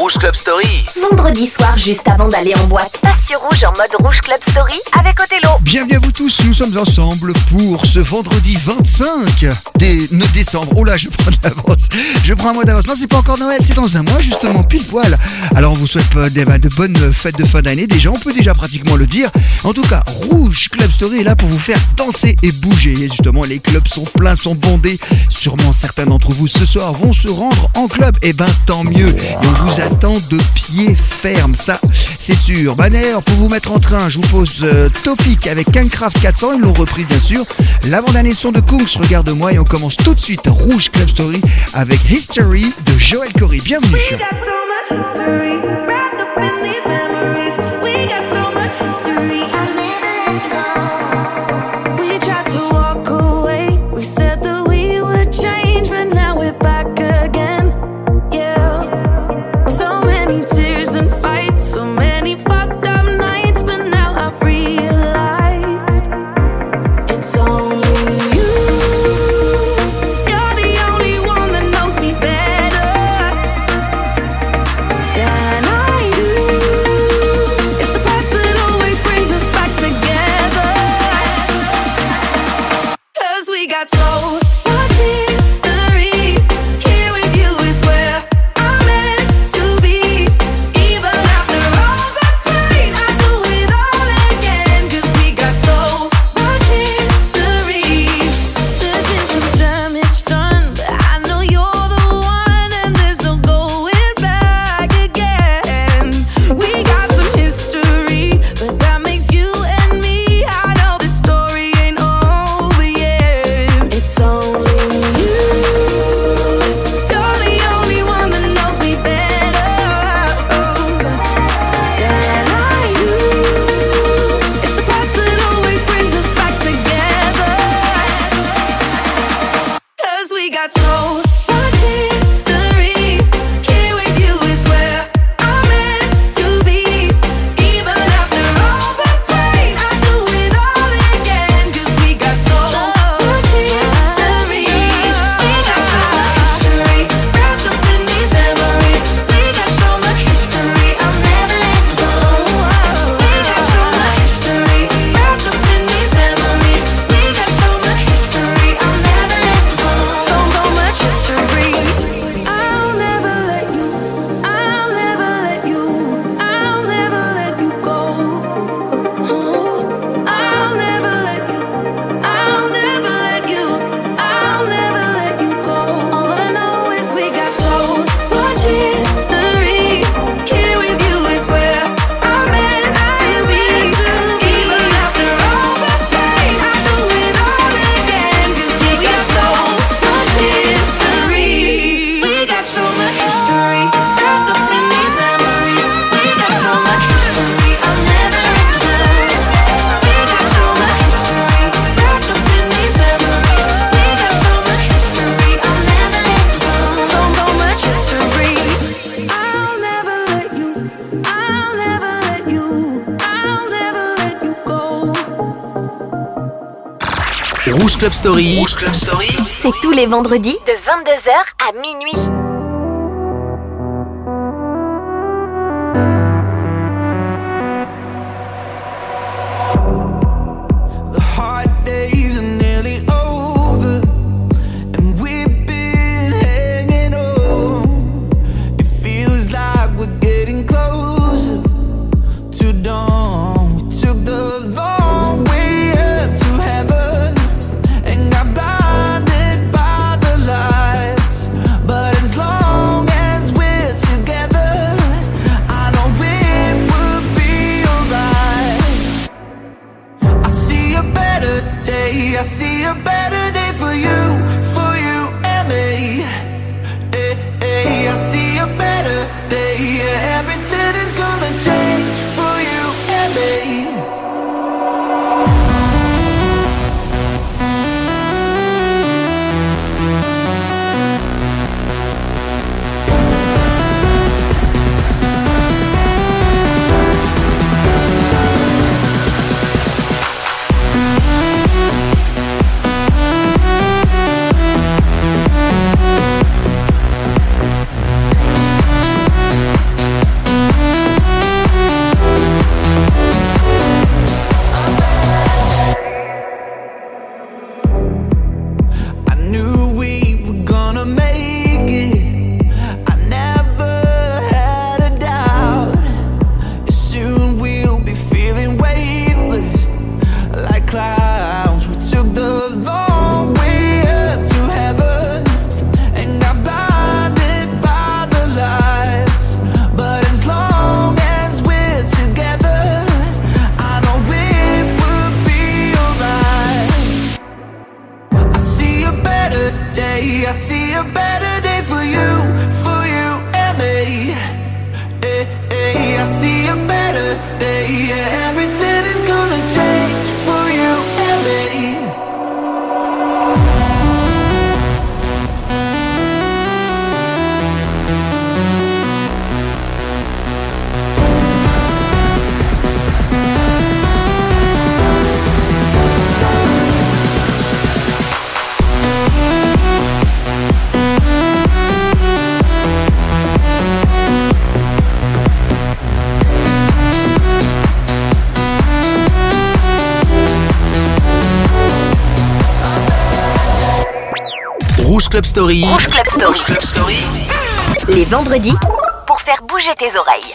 Rouge Club Story. Vendredi soir, juste avant d'aller en boîte, passe sur Rouge en mode Rouge Club Story avec Othello. Bienvenue à vous tous, nous sommes ensemble pour ce vendredi 25 décembre. Oh là, je prends de l'avance. Je prends un mois d'avance. Non, c'est pas encore Noël, c'est dans un mois justement, pile poil. Alors on vous souhaite de bonnes fêtes de fin d'année déjà, on peut déjà pratiquement le dire. En tout cas, Rouge Club Story est là pour vous faire danser et bouger. Et justement, les clubs sont pleins, sont bondés. Sûrement certains d'entre vous ce soir vont se rendre en club. Et ben tant mieux. Et on vous attend de pied ferme, ça c'est sûr. Bah d'ailleurs, pour vous mettre en train, je vous pose Topic avec Kingcraft 400, ils l'ont repris bien sûr. L'avant-dernier son de Kungs, regarde-moi, et on commence tout de suite Rouge Club Story avec History de Joel Corry. Bienvenue. Rouge Club Story. Rouge Club Story. C'est tous les vendredis de 22h à minuit. But it's Club Story. Rouge Club Story. Rouge Club Story. Les vendredis, pour faire bouger tes oreilles.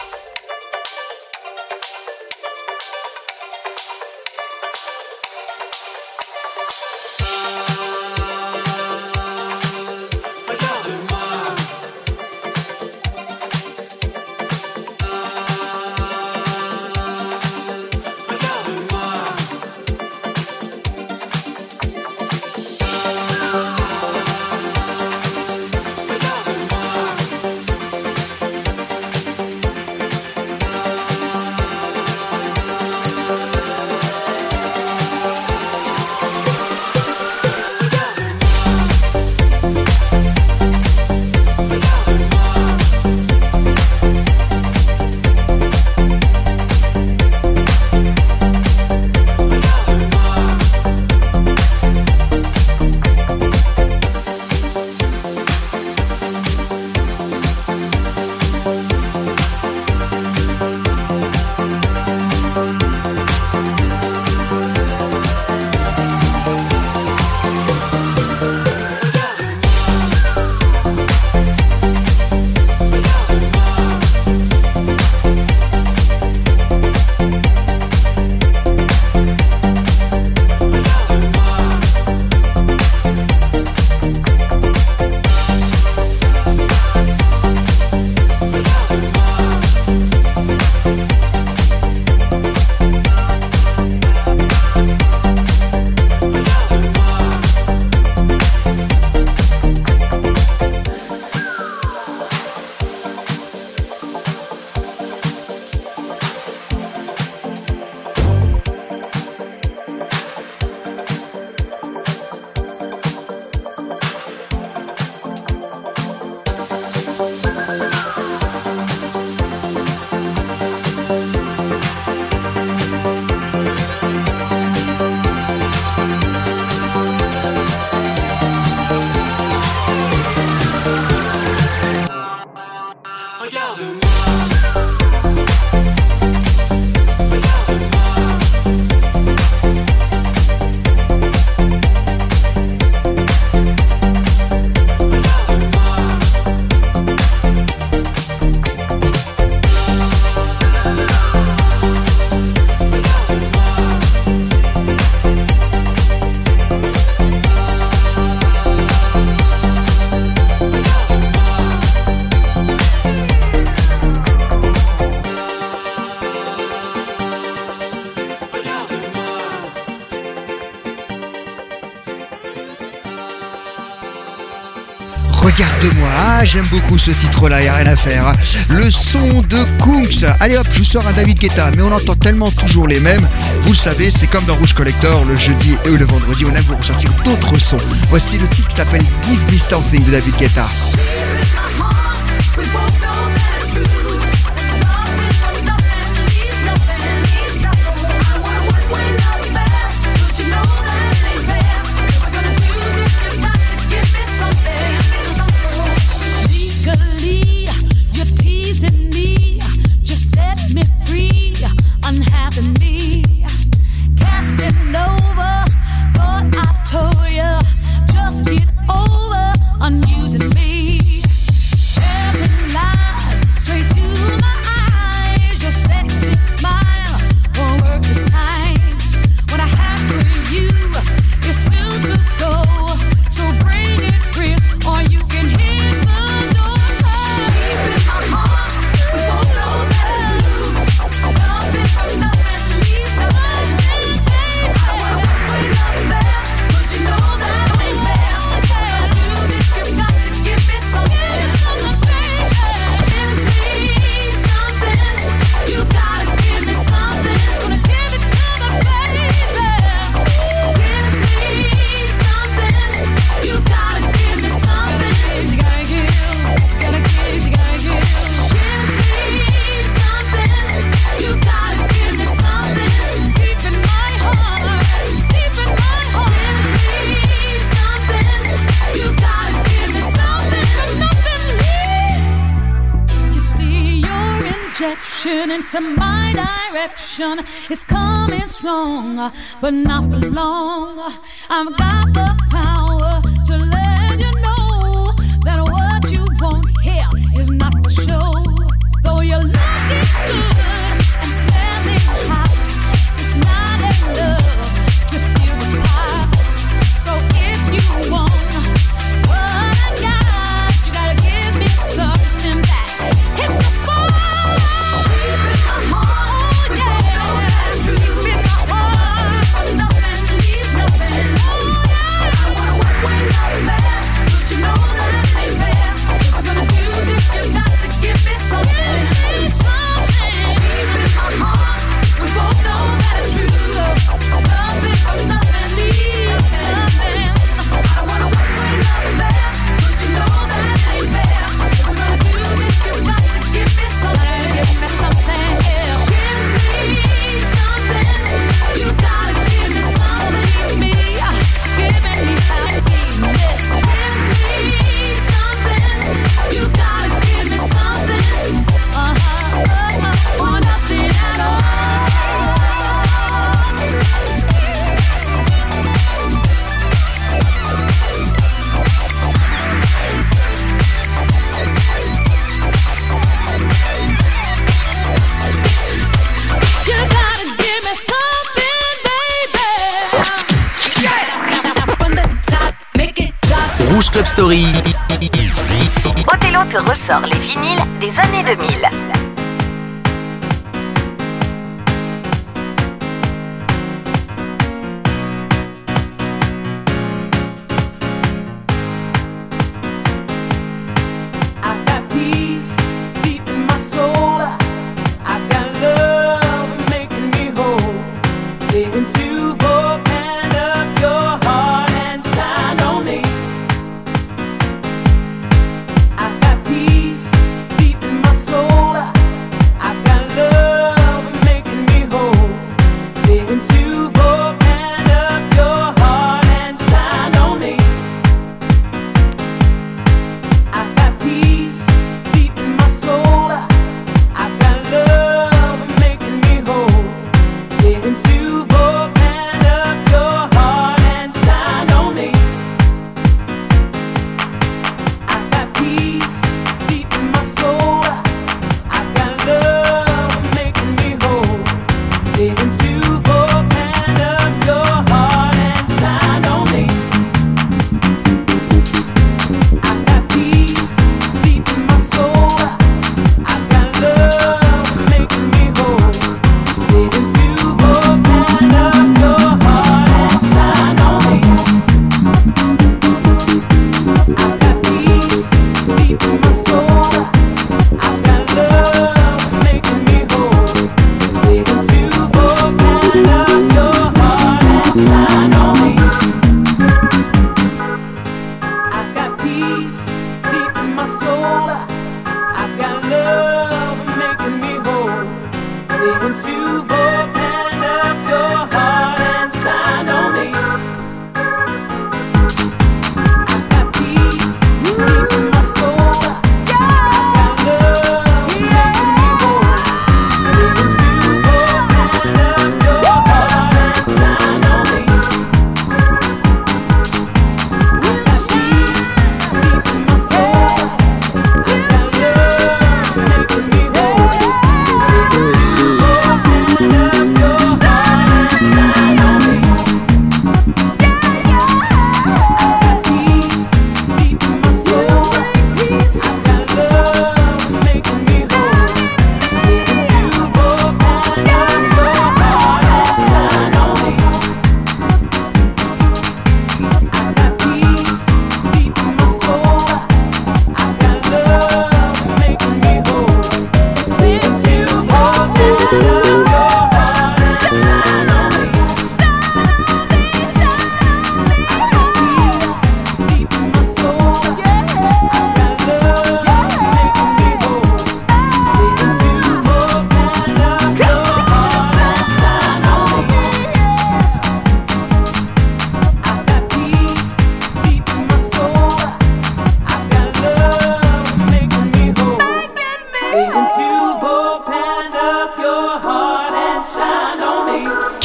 Regarde-moi, j'aime beaucoup ce titre-là, y'a rien à faire. Le son de Kungs. Allez hop, je vous sors un David Guetta, mais on entend tellement toujours les mêmes. Vous le savez, c'est comme dans Rouge Collector, le jeudi et le vendredi, on aime vous ressortir d'autres sons. Voici le titre qui s'appelle Give Me Something de David Guetta. Into my direction, it's coming strong, but not for long. I've got the power to let you know Rouge Club Story. Othello te ressort les vinyles des années 2000.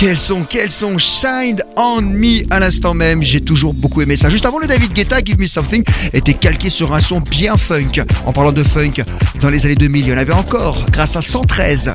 Quels sont Shine on Me à l'instant même, j'ai toujours beaucoup aimé ça. Juste avant, le David Guetta, Give Me Something, était calqué sur un son bien funk. En parlant de funk, dans les années 2000, il y en avait encore, grâce à 113.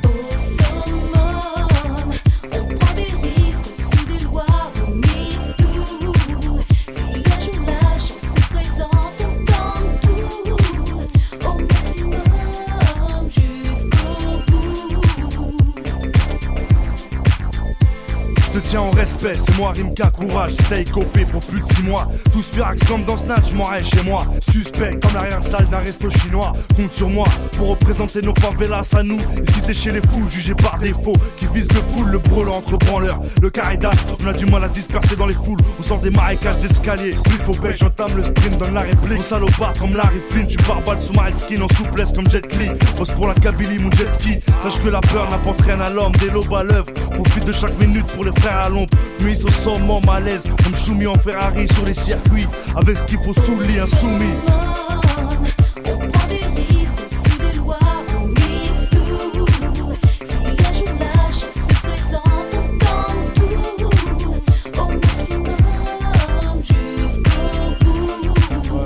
Tiens en respect, c'est moi Rimka, courage, stay copé pour plus de 6 mois. Tous firax comme dans Snatch, je m'en rêve chez moi. Suspect comme l'arrière-salle d'un resto chinois. Compte sur moi pour représenter nos favelas à nous. Et si t'es chez les fous, jugé par défaut, qui vise le full, le brûlant entre branleurs. Le carré d'as, on a du mal à disperser dans les foules. On sort des marécages d'escalier. Spliff au bec, j'entame le sprint, donne la réplique. Mon salopard comme Larry Flynn, tu barbales sous ma headskin en souplesse comme Jet Li. Pose pour la Kabylie, mon jet ski. Sache que la peur n'apporte rien à l'homme, des lobes à l'œuvre. Profite de chaque minute pour les frères à l'ombre. Nuit au sommet, malaise, comme Choumi en Ferrari sur les circuits. Avec ce qu'il faut sous le lit, insoumis. On prend des risques, au-dessus des lois, on mise tout. Si un jour la chance se présente, on tente tout. Au maximum, jusqu'au bout.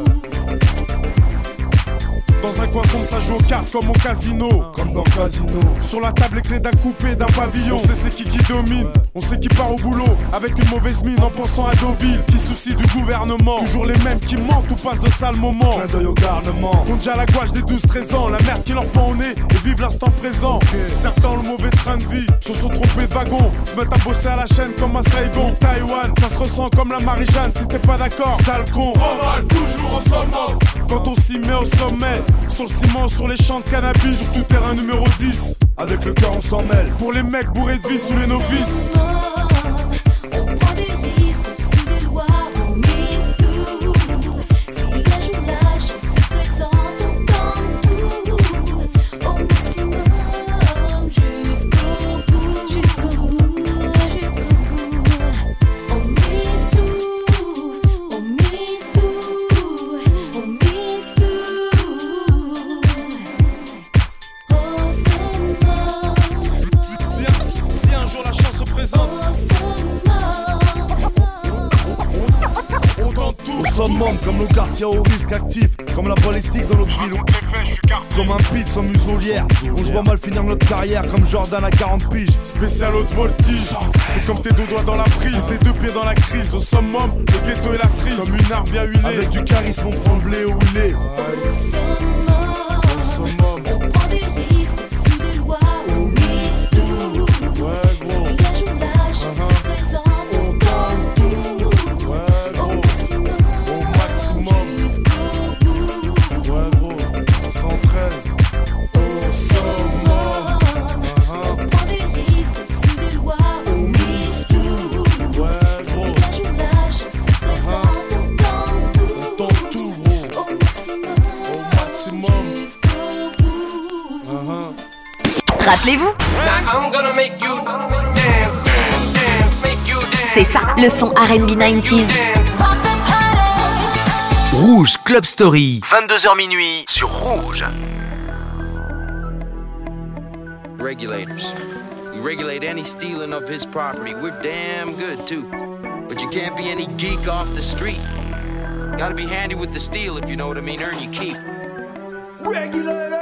Dans un coin sombre, ça joue aux cartes comme au casino. Comme dans le casino. Sur la table, les clés d'un coupé, d'un pavillon. On sait c'est qui domine. On sait qui part au boulot avec une mauvaise mine en pensant à Deauville. Qui soucie du gouvernement. Toujours les mêmes qui mentent ou passent de sales moments. Clin d'œil au garnement. Compte déjà la gouache des 12-13 ans. La merde qui leur pend au nez et vivent l'instant présent. Certains ont le mauvais train de vie, se sont trompés de wagon. Se mettent à bosser à la chaîne comme un Saigon. Taïwan, ça se ressent comme la Marie-Jeanne. Si t'es pas d'accord, sale con. On va toujours au sommet. Quand on s'y met au sommet, sur le ciment, sur les champs de cannabis, sur tout terrain numéro 10. Avec le cœur on s'en mêle. Pour les mecs bourrés de vie sous les novices. On prend des risques, au-dessus des lois, on mise tout. Si un jour la chance se présente, on tente tout. Au maximum, jusqu'au bout, jusqu'au bout, jusqu'au bout. On mise tout, on mise tout, on mise tout. Au sommet. Bien un jour la chance se présente. On tente tout. Au summum comme nos quartiers au risque actif. Comme la balistique dans notre ville. Comme un pit sans muselière. On se voit mal finir notre carrière comme Jordan à 40 piges. Spécial haute voltige. C'est comme tes deux doigts dans la prise, les deux pieds dans la crise. Au summum, le ghetto et la cerise. Comme une arme bien huilée. Avec du charisme on prend le blé où il est. Au summum. On prend des risques, au-dessus des lois, on mise tout. Ouais gros. Et un jour la chance se présente, on tente tout. Ouais Au gros. maximum, Au maximum. jusqu'au bout. Ouais gros. 113. Au summum. On prend des risques, au-dessus des lois, on mise tout. Ouais Et gros. un jour la chance se présente, on tente On tout. tente tout gros. Au maximum, Au maximum. jusqu'au bout. Rappelez-vous, c'est ça, le son R&B 90s. Rouge Club Story, 22h minuit sur Rouge. Regulators. We regulate any stealing of his property. We're damn good too. But you can't be any geek off the street. Gotta be handy with the steel if you know what I mean. Earn your keep. Regulators!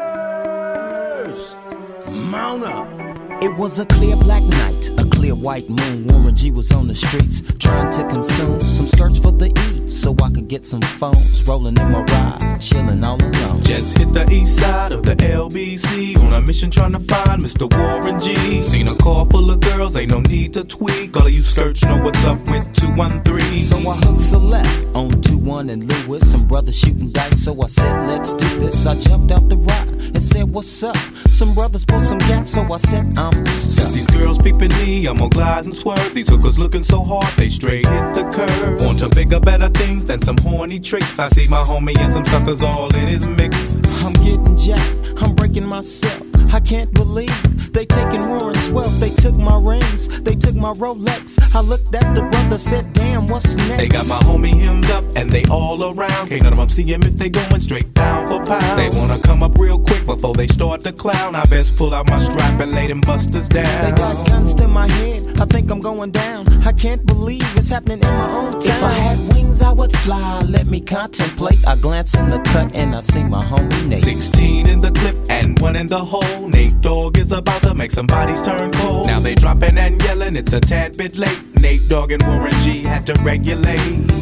Mount up! It was a clear black night, a clear white moon. Warren G was on the streets trying to consume some skirts for the E, so I could get some phones. Rolling in my ride, chilling all alone. Just hit the east side of the LBC on a mission trying to find Mr. Warren G. Seen a car full of girls, ain't no need to tweak. All of you skirts know what's up with 213. So I hooked a left on 21 and Lewis. Some brothers shooting dice, so I said, let's do this. I jumped out the ride and said, what's up? Some brothers pulled some gas, so I said, I'm stuck. Since these girls peeping me, I'm gonna glide and swerve. These hookers looking so hard, they straight hit the curve. Want to bigger, better things than some horny tricks. I see my homie and some suckers all in his mix. I'm getting jacked, I'm breaking myself. I can't believe they taking Warren's wealth. They took my rings, they took my Rolex. I looked at the brother, said, damn, what's next? They got my homie hemmed up and they all around. Can't none of them see him if they going straight pound for pound. They wanna come up real quick before they start to clown. I best pull out my strap and lay them busters down. They got guns to my head, I think I'm going down. I can't believe it's happening in my own town. If I had wings, I would fly, let me contemplate. I glance in the cut and I see my homie Nate. 16 in the clip and 1 in the hole. Nate Dogg is about to make some bodies turn cold. Now they dropping and yelling, it's a tad bit late. Nate Dogg and Warren G had to regulate.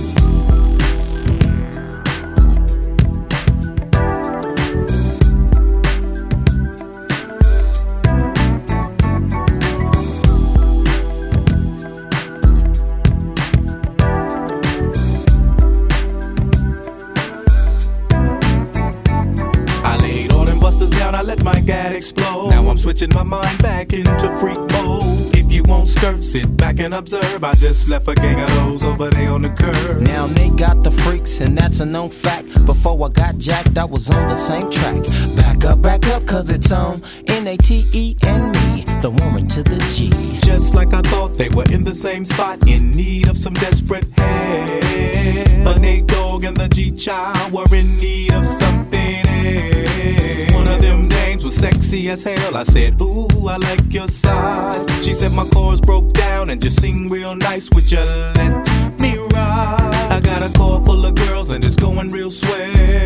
I let my gad explode. Now I'm switching my mind back into freak mode. If you won't skirt, sit back and observe. I just left a gang of those over there on the curb. Now they got the freaks and that's a known fact. Before I got jacked, I was on the same track. Back up, cause it's on N-A-T-E and me, the Warren to the G. Just like I thought, they were in the same spot, in need of some desperate help. But Nate Dogg and the G-Child were in need of something else. One of them dames was sexy as hell. I said, ooh, I like your size. She said my chords broke down and just sing real nice. Would you let me ride? I got a car full of girls and it's going real swell.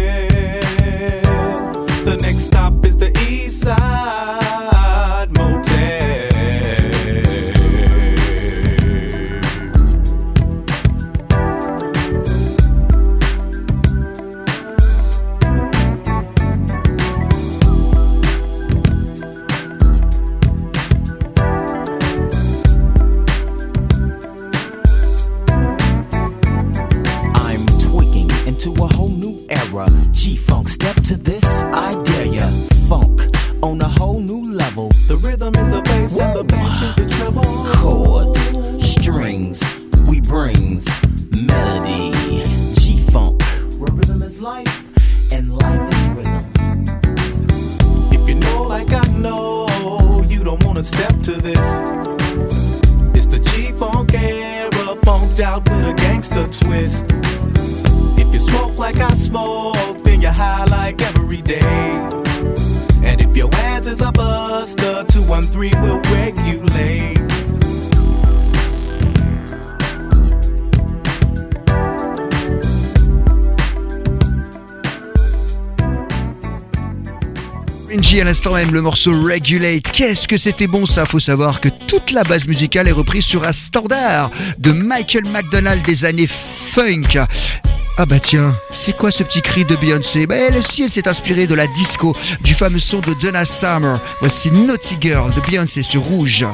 The next stop is the East Side Motel. To a whole new era, G-Funk, step to this, I dare ya. Funk on a whole new level. The rhythm is the bass and the bass is the treble. Chords, strings, we brings melody. G-Funk, where rhythm is life and life is rhythm. If you know like I know, you don't wanna step to this. It's the G-Funk era, funked out with a gangster twist. If you smoke like I smoke, then you're high like every day. And if your ass is a buster, 213 will regulate. G à l'instant même, le morceau Regulate. Qu'est-ce que c'était bon ça? Faut savoir que toute la base musicale est reprise sur un standard de Michael McDonald des années funk. Ah bah tiens, c'est quoi ce petit cri de Beyoncé? Bah elle aussi, elle s'est inspirée de la disco, du fameux son de Donna Summer. Voici Naughty Girl de Beyoncé sur Rouge.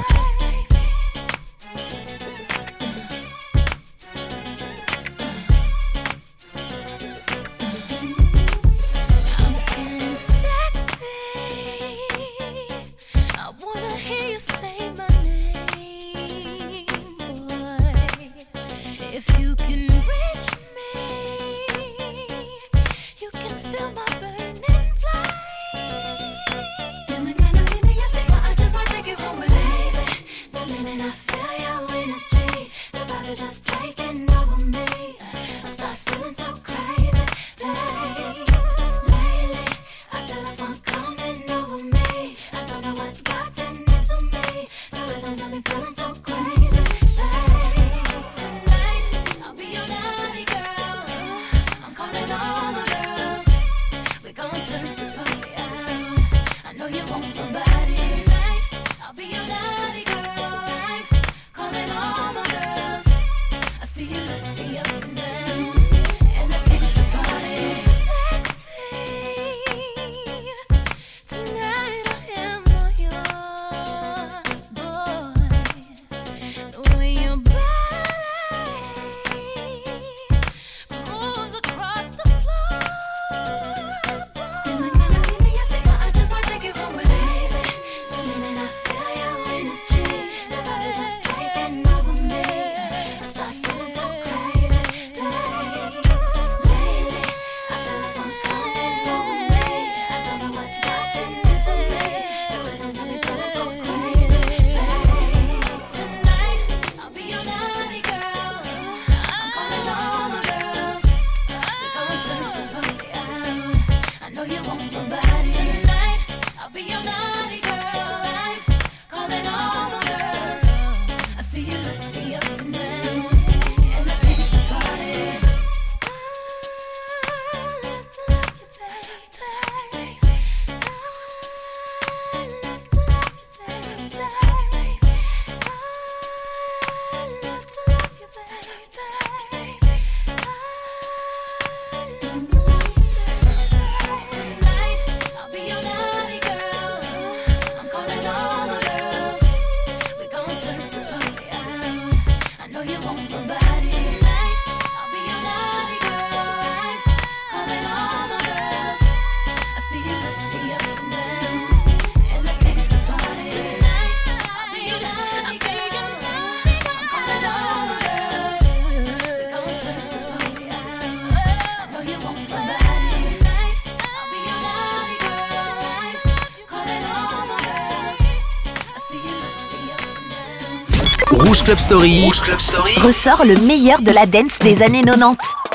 Rouge Club Story. Rouge Club Story. Ressort le meilleur de la dance des années 90.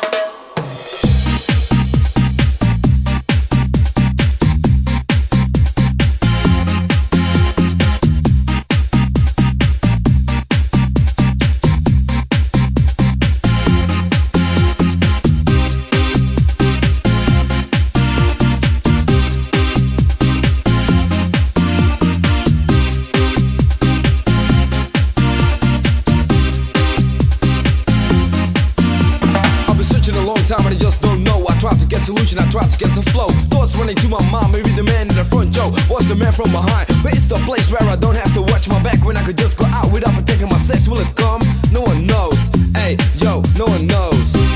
Solution, I tried to get some flow. Thoughts running to my mind, maybe the man in the front, Joe was the man from behind. But it's the place where I don't have to watch my back, when I could just go out without protecting my sex. Will it come? No one knows. Hey, yo, no one knows.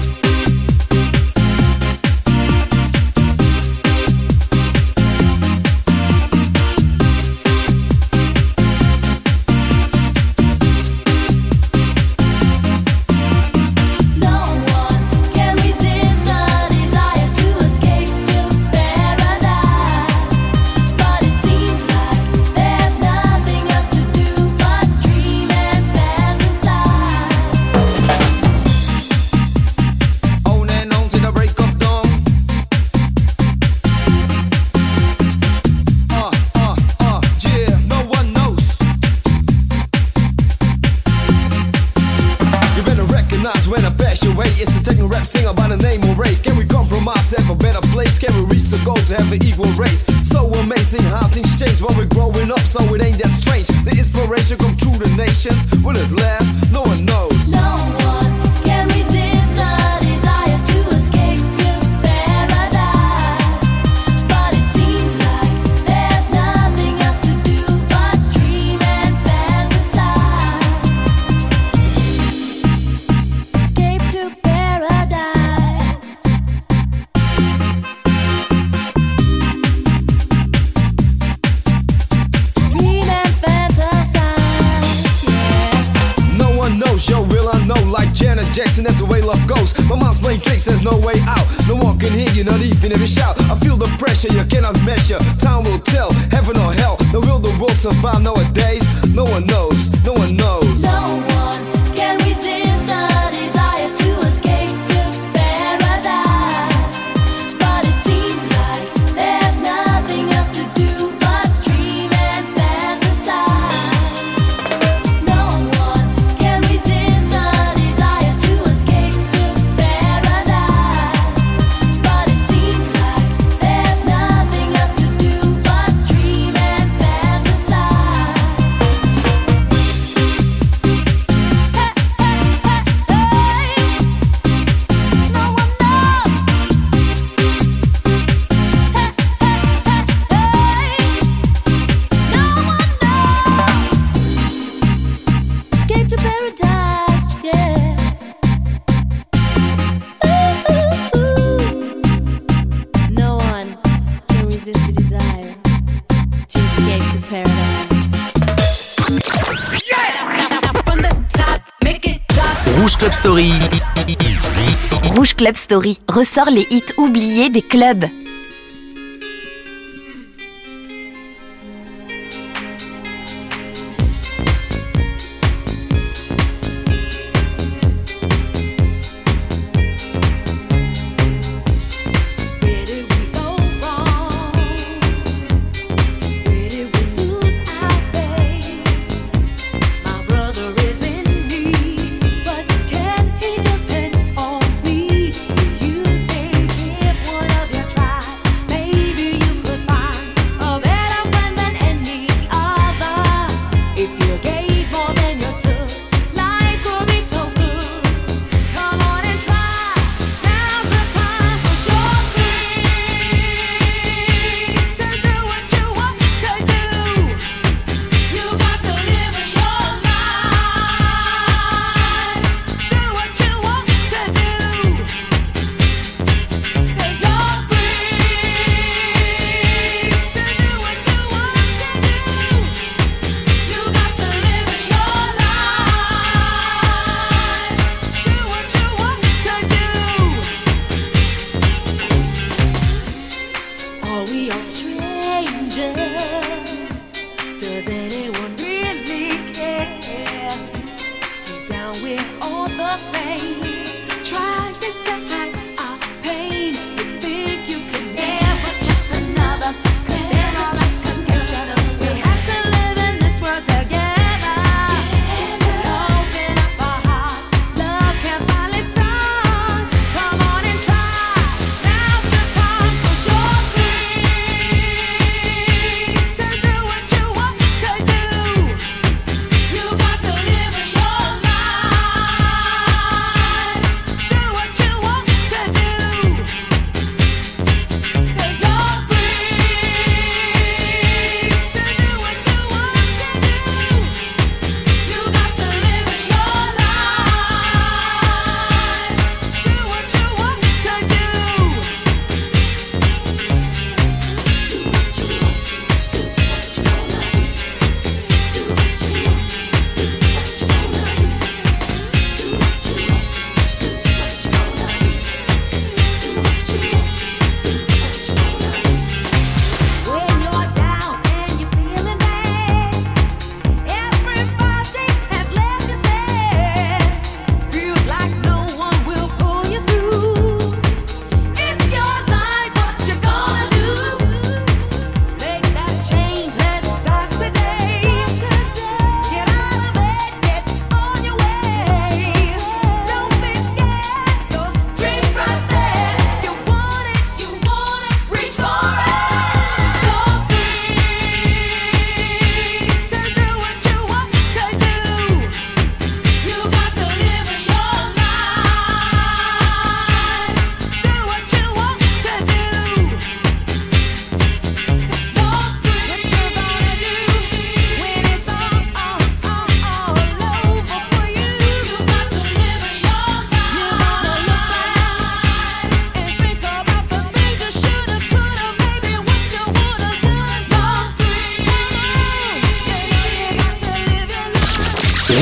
When I pass your way, it's a techno rap singer by the name of Ray. Can we compromise, have a better place? Can we reach the goal to have an equal race? So amazing how things change while we're growing up, so it ain't that strange. The inspiration come through the nations. Will it last? No one knows. No one can resist the desire to escape to paradise. But it seems like there's nothing else to do but dream and fantasize. Escape to paradise. Dream and fantasize. Yeah. No one knows, yo, will I know? Like Janet Jackson, that's the way love goes. My mind's playing tricks, there's no way out. No one can hear you, not even if you shout. I feel the pressure, you cannot measure. Time will tell, heaven or hell. Now will the world survive nowadays? No one knows, no one knows. No one can resist the desire to escape to paradise. But it seems like there's nothing else to do but dream and fantasize. No one can resist the desire to escape to paradise. But it seems like there's nothing else to do but dream and fantasize. No one knows. No one knows. Escape to paradise, yeah. No one can resist the desire to escape to paradise. From the top, make it drop. Rouge Club Story. Rouge Club Story ressort les hits oubliés des clubs. Where did we go wrong? Where did we lose our faith? My brother is in need, but can he depend on me? Do you think if one of you tries?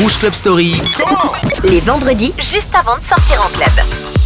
Rouge Club Story. Les vendredis, juste avant de sortir en club.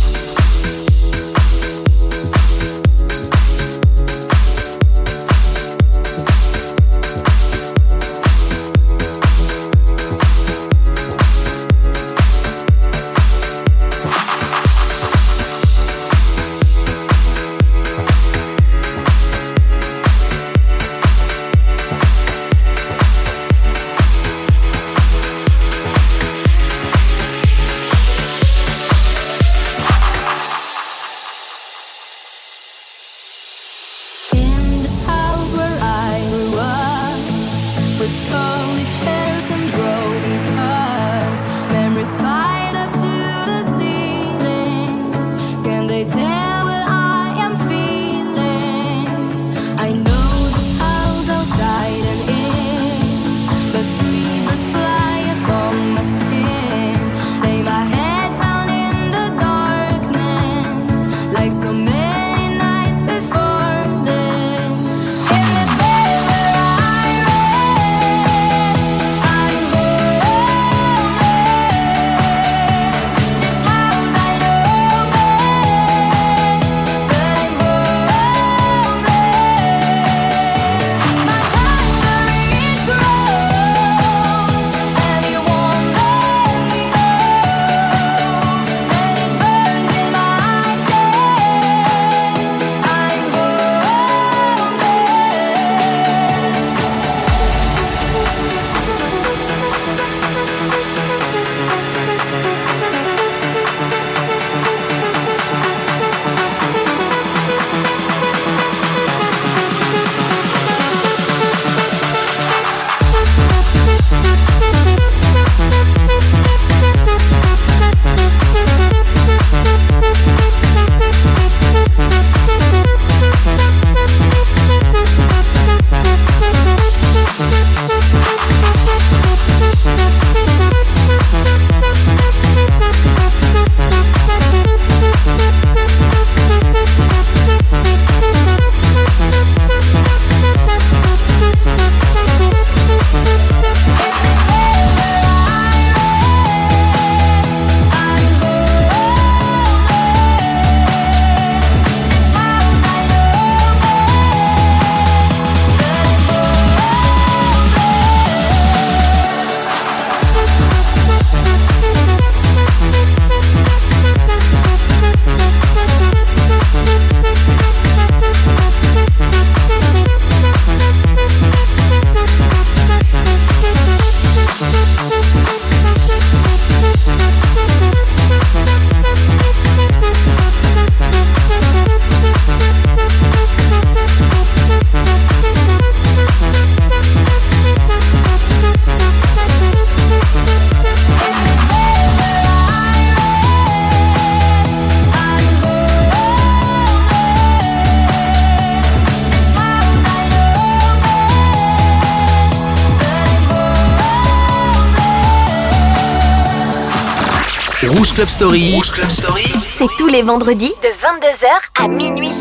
Rouge Club Story. Rouge Club Story. C'est tous les vendredis de 22h à minuit.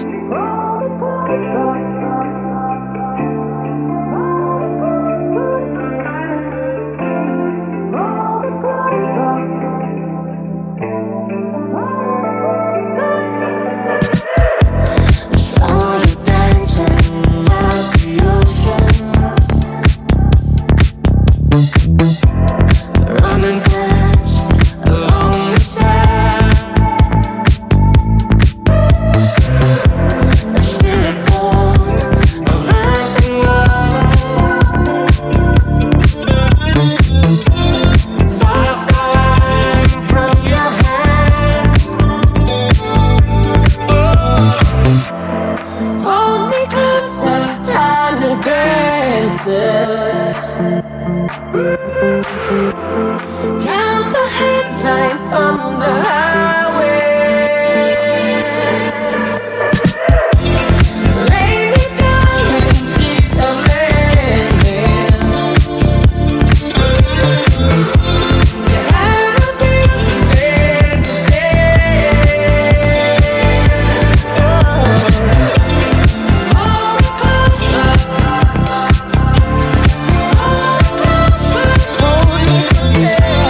Yeah.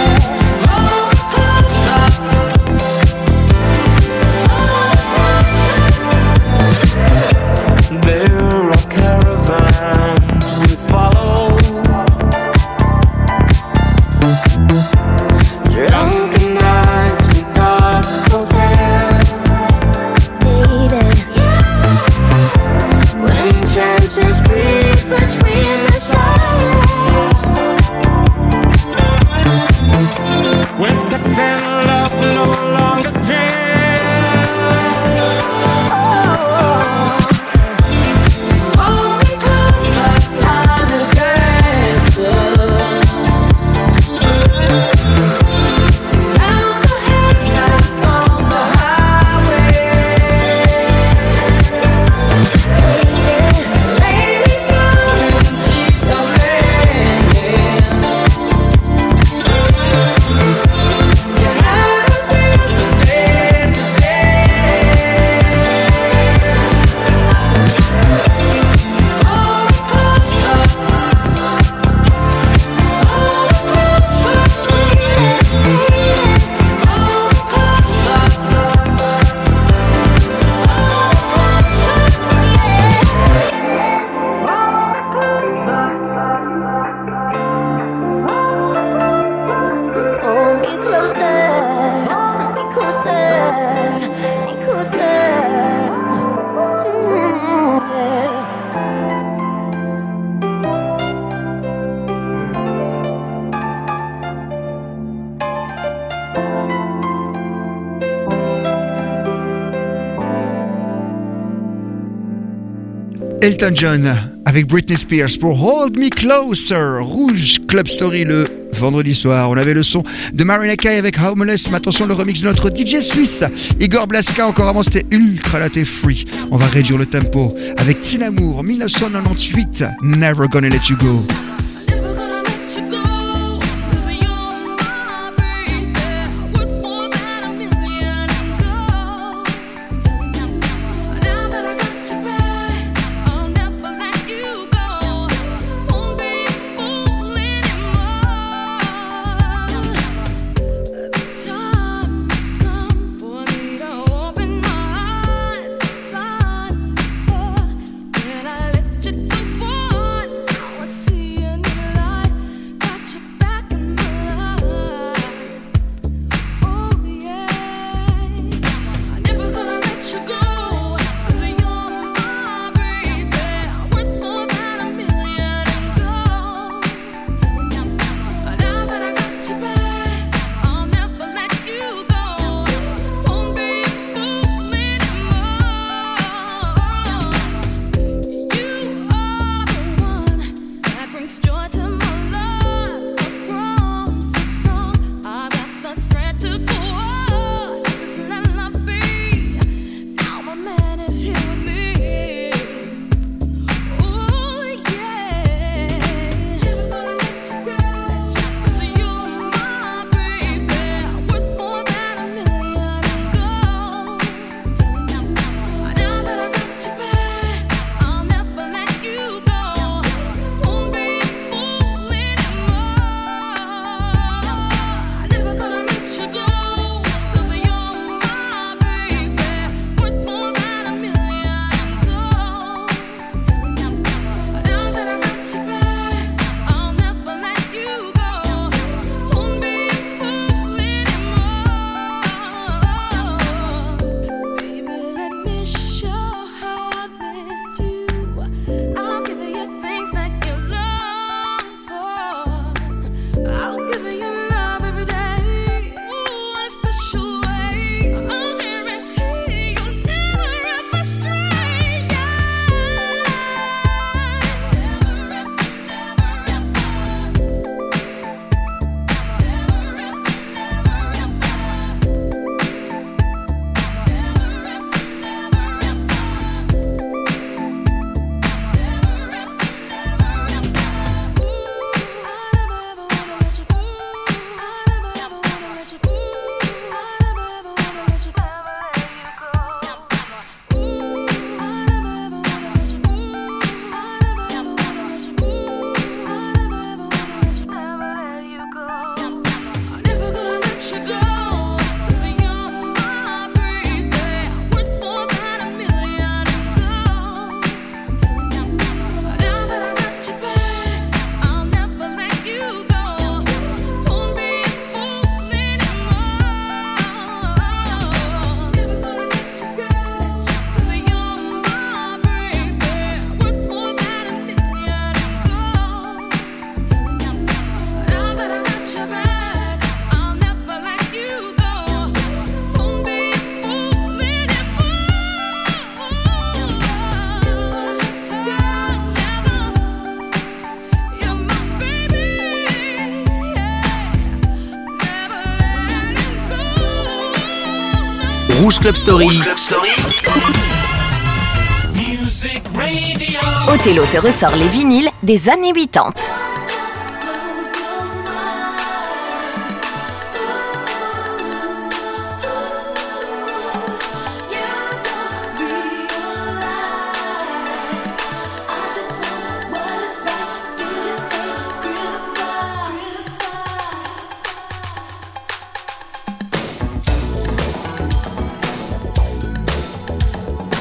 Elton John avec Britney Spears pour Hold Me Closer. Rouge Club Story le vendredi soir. On avait le son de Marina Kaye avec Homeless. Mais attention, le remix de notre DJ suisse Igor Blaska. Encore avant, c'était Ultra Latte Free. On va réduire le tempo avec Tina Moore 1998. Never Gonna Let You Go. Rouge Club Story. Othello te ressort les vinyles des années 80.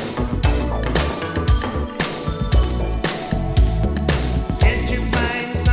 Did you find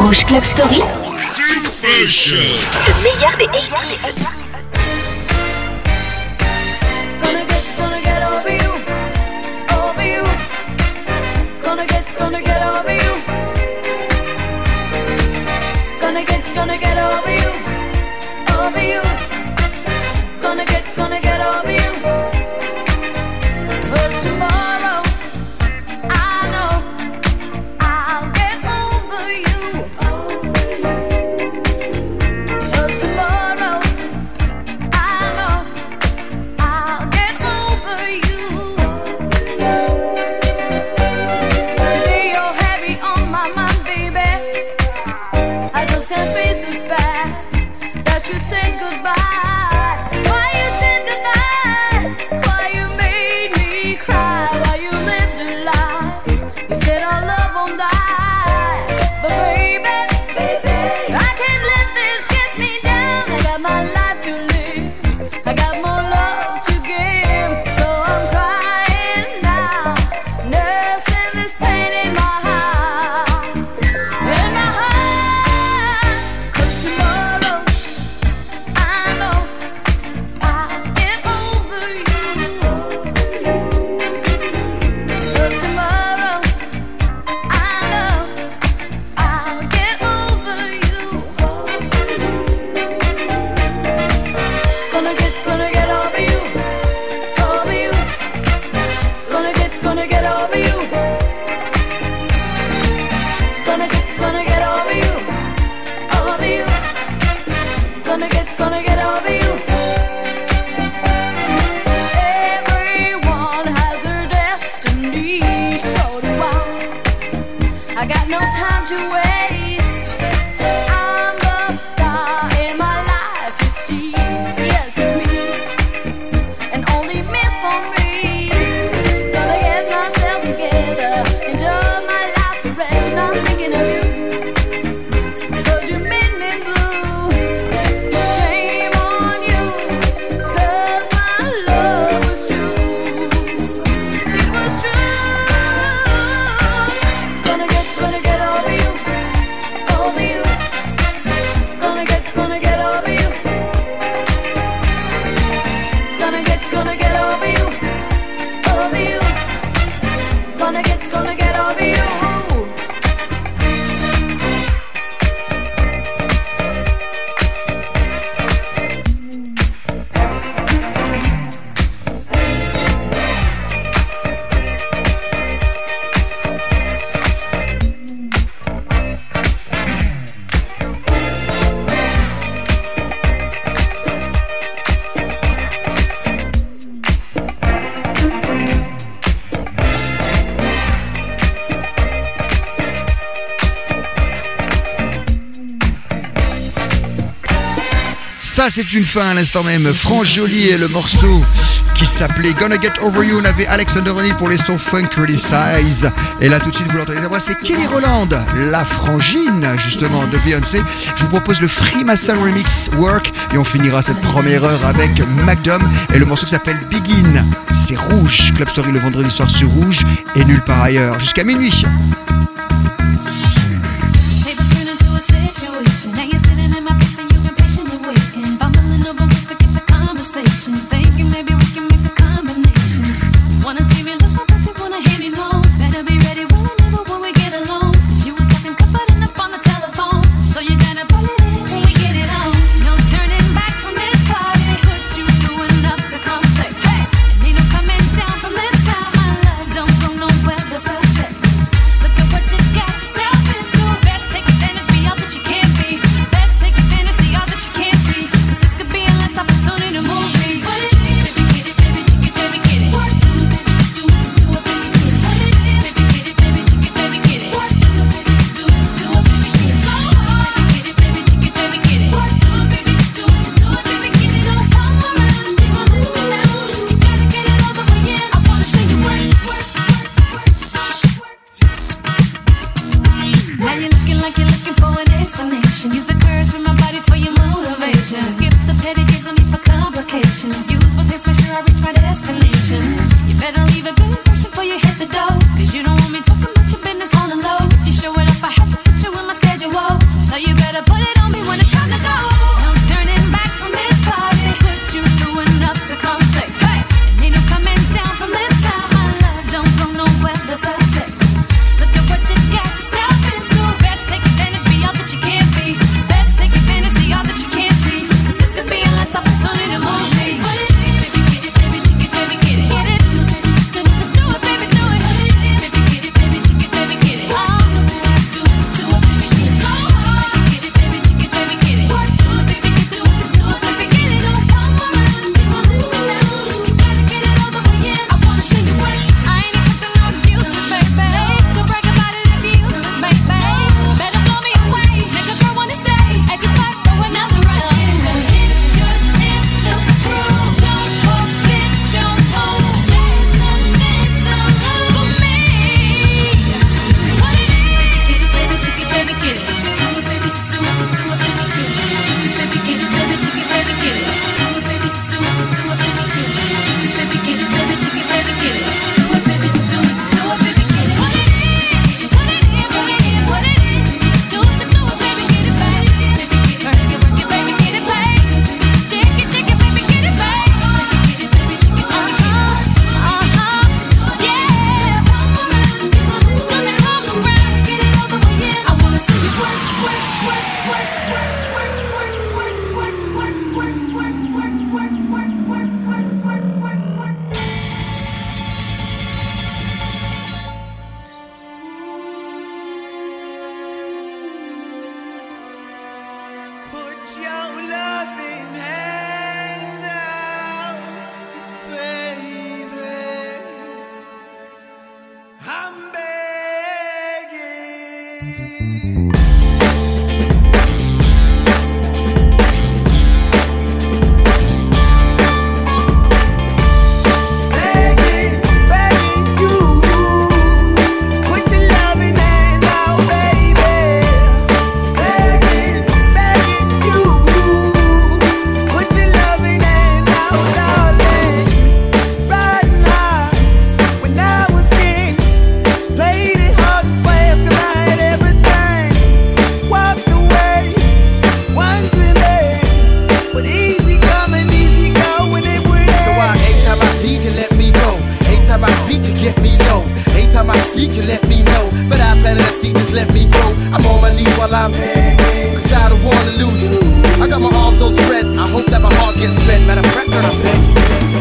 Rouge Club Story. Le meilleur des 80s. Gonna get over you, over you. Gonna get over you. Gonna get over you, over you. Gonna get over you. 'Cause tomorrow I know I'll get over you. 'Cause tomorrow I know I'll get over you. Today you're heavy on my mind, baby. I just can't face the fact that you said goodbye. Why you said goodbye? Why you made me cry? Why you lived a lie? You said our love won't die. But baby, I can't let this get me down. I got my life to live. I got more love to give. So I'm crying now, nursing this pain in my heart. In my heart. 'Cause tomorrow I know I'll get over you. 'Cause tomorrow I know I'll get over you. Gonna get over you, over you. Gonna get over you. Gonna get over you, over you. Gonna get over you. Everyone has their destiny, so do I got no time to waste. I'm the star in my life, you see. Yes, it's me, and only me for me. Gonna get myself together, enjoy my life forever. Not thinking of you, 'cause you made me blue. Shame on you, 'cause my love was true. It was true. Gonna get over you, over you. Gonna get over you. Gonna get over you, over you. Gonna get over you. Ça, c'est une fin à l'instant même. France Jolie et le morceau qui s'appelait Gonna Get Over You. On avait Alexander O'Neal pour les sons Funk Criticize. Et là, tout de suite, vous l'entendez, c'est Kelly Rowland, la frangine, justement, de Beyoncé. Je vous propose le Freemason Remix Work. Et on finira cette première heure avec McDom et le morceau qui s'appelle Begin. C'est Rouge. Club Story le vendredi soir sur Rouge et nulle part ailleurs. Jusqu'à minuit. What you seek you, let me know. But I planted a seed, just let me grow. I'm on my knees while I'm begging, cause I don't wanna lose you. I got my arms so spread, I hope that my heart gets fed. Matter of fact, girl, I'm begging.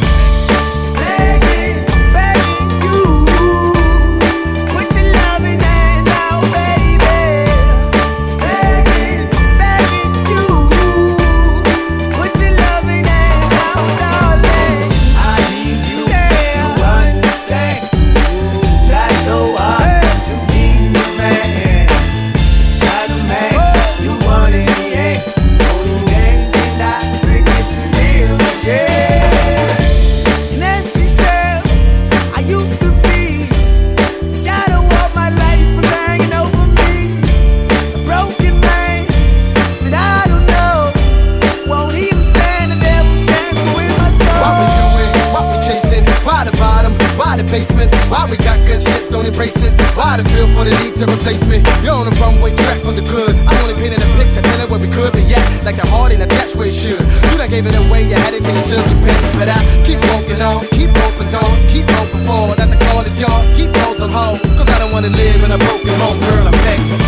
Why we got good shit, don't embrace it? Why the feel for the need to replace me? You're on the runway track from the good. I'm only painting a picture, telling where we could be at. Like the heart in a attached where it should. You done gave it away, you had it till you took your pen. But I keep walking on, keep open doors, keep open forward. That the call is yours, keep those on hold. Cause I don't wanna live in a broken home, girl, I'm begging.